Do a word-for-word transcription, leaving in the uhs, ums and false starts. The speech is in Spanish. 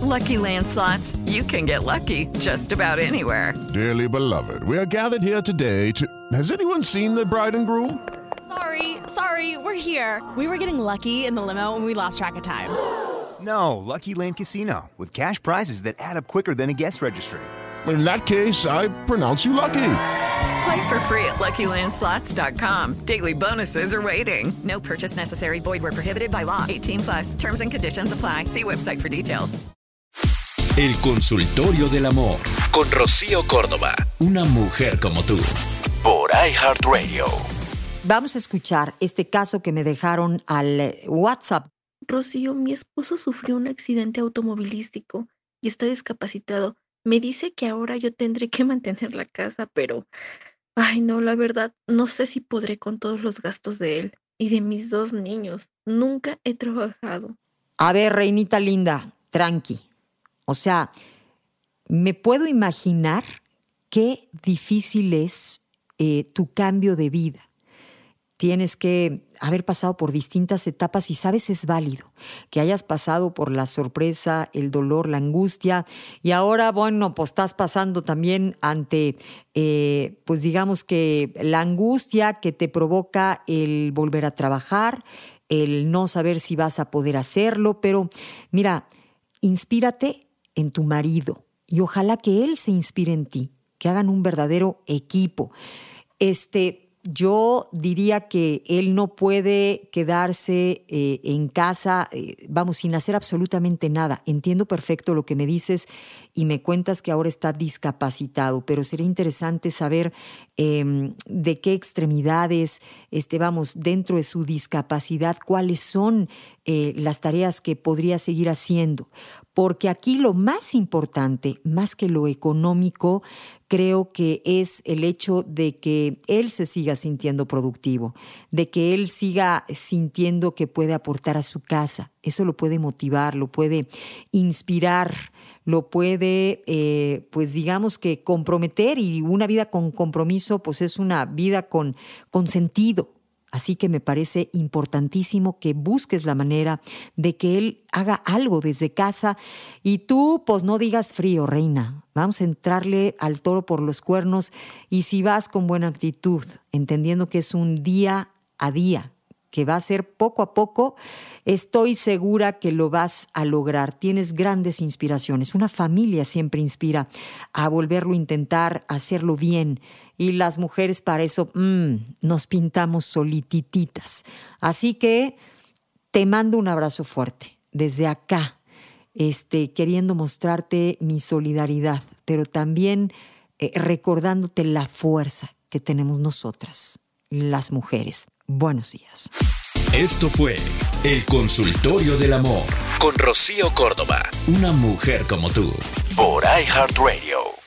Lucky Land Slots, you can get lucky just about anywhere. Dearly beloved, we are gathered here today to... Has anyone seen the bride and groom? Sorry, sorry, we're here. We were getting lucky in the limo and we lost track of time. No, Lucky Land Casino, with cash prizes that add up quicker than a guest registry. In that case, I pronounce you lucky. Play for free at Lucky Land Slots dot com. Daily bonuses are waiting. No purchase necessary. Void where prohibited by law. eighteen plus. Terms and conditions apply. See website for details. El consultorio del amor con Rocío Córdoba. Una mujer como tú. Por iHeartRadio. Vamos a escuchar este caso que me dejaron al WhatsApp. Rocío, mi esposo sufrió un accidente automovilístico y está discapacitado. Me dice que ahora yo tendré que mantener la casa, pero... Ay, no, la verdad, no sé si podré con todos los gastos de él y de mis dos niños. Nunca he trabajado. A ver, reinita linda, tranqui. O sea, me puedo imaginar qué difícil es eh, tu cambio de vida. Tienes que haber pasado por distintas etapas y sabes, es válido que hayas pasado por la sorpresa, el dolor, la angustia y ahora, bueno, pues estás pasando también ante, eh, pues digamos que la angustia que te provoca el volver a trabajar, el no saber si vas a poder hacerlo, pero mira, inspírate en tu marido y ojalá que él se inspire en ti, que hagan un verdadero equipo. Este... Yo diría que él no puede quedarse eh, en casa, eh, vamos, sin hacer absolutamente nada. Entiendo perfecto lo que me dices y me cuentas que ahora está discapacitado, pero sería interesante saber eh, de qué extremidades, este, vamos, dentro de su discapacidad, cuáles son eh, las tareas que podría seguir haciendo. Porque aquí lo más importante, más que lo económico, creo que es el hecho de que él se siga sintiendo productivo, de que él siga sintiendo que puede aportar a su casa. Eso lo puede motivar, lo puede inspirar, lo puede, eh, pues digamos que comprometer, y una vida con compromiso pues es una vida con, con sentido. Así que me parece importantísimo que busques la manera de que él haga algo desde casa y tú pues no digas frío, reina. Vamos a entrarle al toro por los cuernos y si vas con buena actitud, entendiendo que es un día a día, que va a ser poco a poco, estoy segura que lo vas a lograr. Tienes grandes inspiraciones. Una familia siempre inspira a volverlo a intentar, a hacerlo bien. Y las mujeres para eso mmm, nos pintamos solitititas. Así que te mando un abrazo fuerte desde acá, este, queriendo mostrarte mi solidaridad, pero también eh, recordándote la fuerza que tenemos nosotras, las mujeres. Buenos días. Esto fue El Consultorio del Amor con Rocío Córdoba. Una mujer como tú. Por iHeartRadio.